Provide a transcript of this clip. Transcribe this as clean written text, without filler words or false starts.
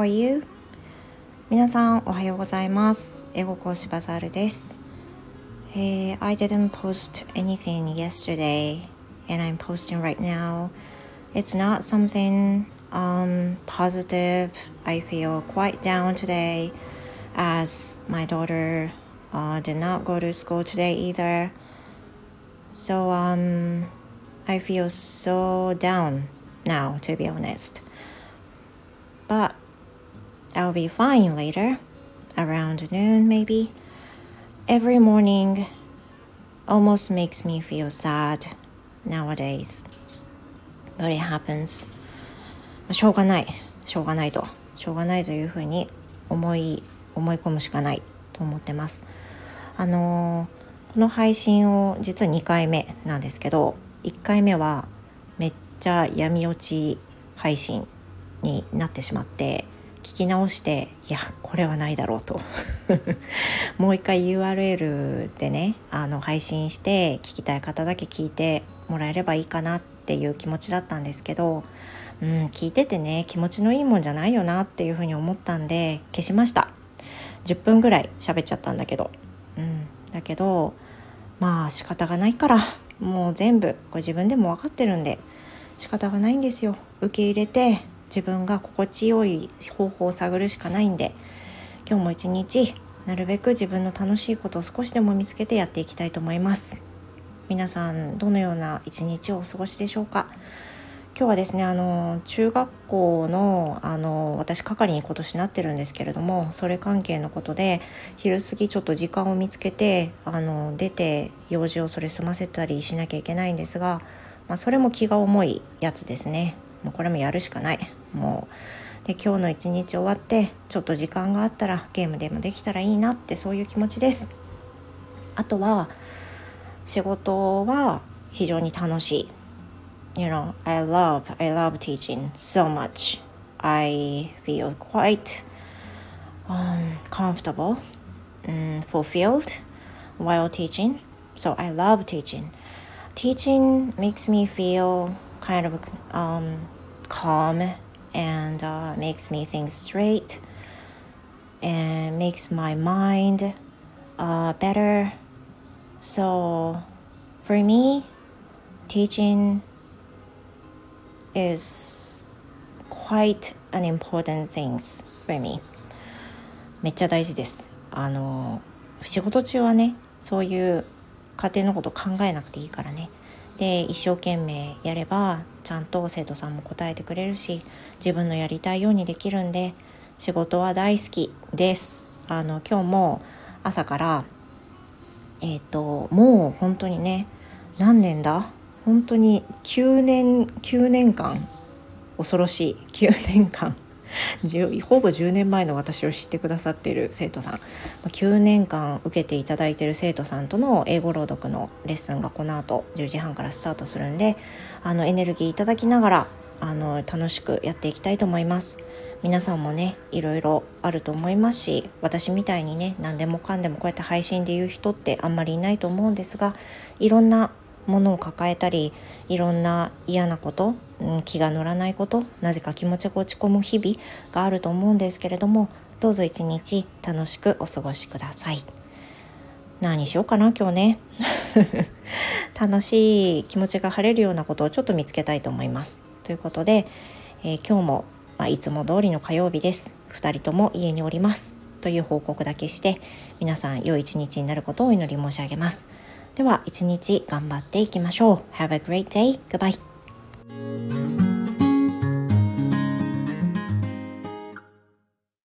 you? 皆さんおはようございます。英語講師バザールです。I didn't post anything yesterday and I'm posting right now. It's not something positive. I feel quite down today as my daughter did not go to school today either. So I feel so down now, to be honest. But I'll be fine later, around noon maybe. Every morning almost makes me feel sad nowadays. But it happens. しょうがないというふうに思い込むしかないと思ってます。この配信を実は2回目なんですけど、1回目はめっちゃ闇落ち配信になってしまって、聞き直してこれはないだろうともう一回 URL でね配信して聞きたい方だけ聞いてもらえればいいかなっていう気持ちだったんですけど、聞いててね気持ちのいいもんじゃないよなっていうふうに思ったんで消しました。10分ぐらい喋っちゃったんだけど、だけど仕方がないから、もう全部これ自分でも分かってるんで仕方がないんですよ。受け入れて自分が心地よい方法を探るしかないんで、今日も一日なるべく自分の楽しいことを少しでも見つけてやっていきたいと思います。皆さんどのような一日をお過ごしでしょうか。今日はですね中学校の私係に今年なってるんですけれども、それ関係のことで昼過ぎちょっと時間を見つけて出て用事をそれ済ませたりしなきゃいけないんですが、それも気が重いやつですね。もうこれもやるしかない。で今日の一日終わってちょっと時間があったらゲームでもできたらいいなって、そういう気持ちです。あとは仕事は非常に楽しい。I love teaching so much. I feel quite comfortable and fulfilled while teaching. So I love teaching. Teaching makes me feel kind of calm and makes me think straight and makes my mind better. So for me, teaching is quite an important thing for me. めっちゃ大事です。仕事中はねそういう家庭のこと考えなくていいからね。で一生懸命やればちゃんと生徒さんも答えてくれるし、自分のやりたいようにできるんで仕事は大好きです。今日も朝からもう本当にね何年だ本当に9年間、恐ろしい9年間ほぼ10年前の私を知ってくださっている生徒さん、9年間受けていただいている生徒さんとの英語朗読のレッスンがこの後10時半からスタートするんで、エネルギーいただきながら楽しくやっていきたいと思います。皆さんもねいろいろあると思いますし、私みたいにね何でもかんでもこうやって配信で言う人ってあんまりいないと思うんですが、いろんなものを抱えたり、いろんな嫌なこと、気が乗らないこと、なぜか気持ちが落ち込む日々があると思うんですけれども、どうぞ一日楽しくお過ごしください。何しようかな今日ね楽しい気持ちが晴れるようなことをちょっと見つけたいと思います。ということで、今日も、いつも通りの火曜日です。2人とも家におりますという報告だけして、皆さん良い一日になることをお祈り申し上げます。では一日頑張っていきましょう。Have a great day. Goodbye.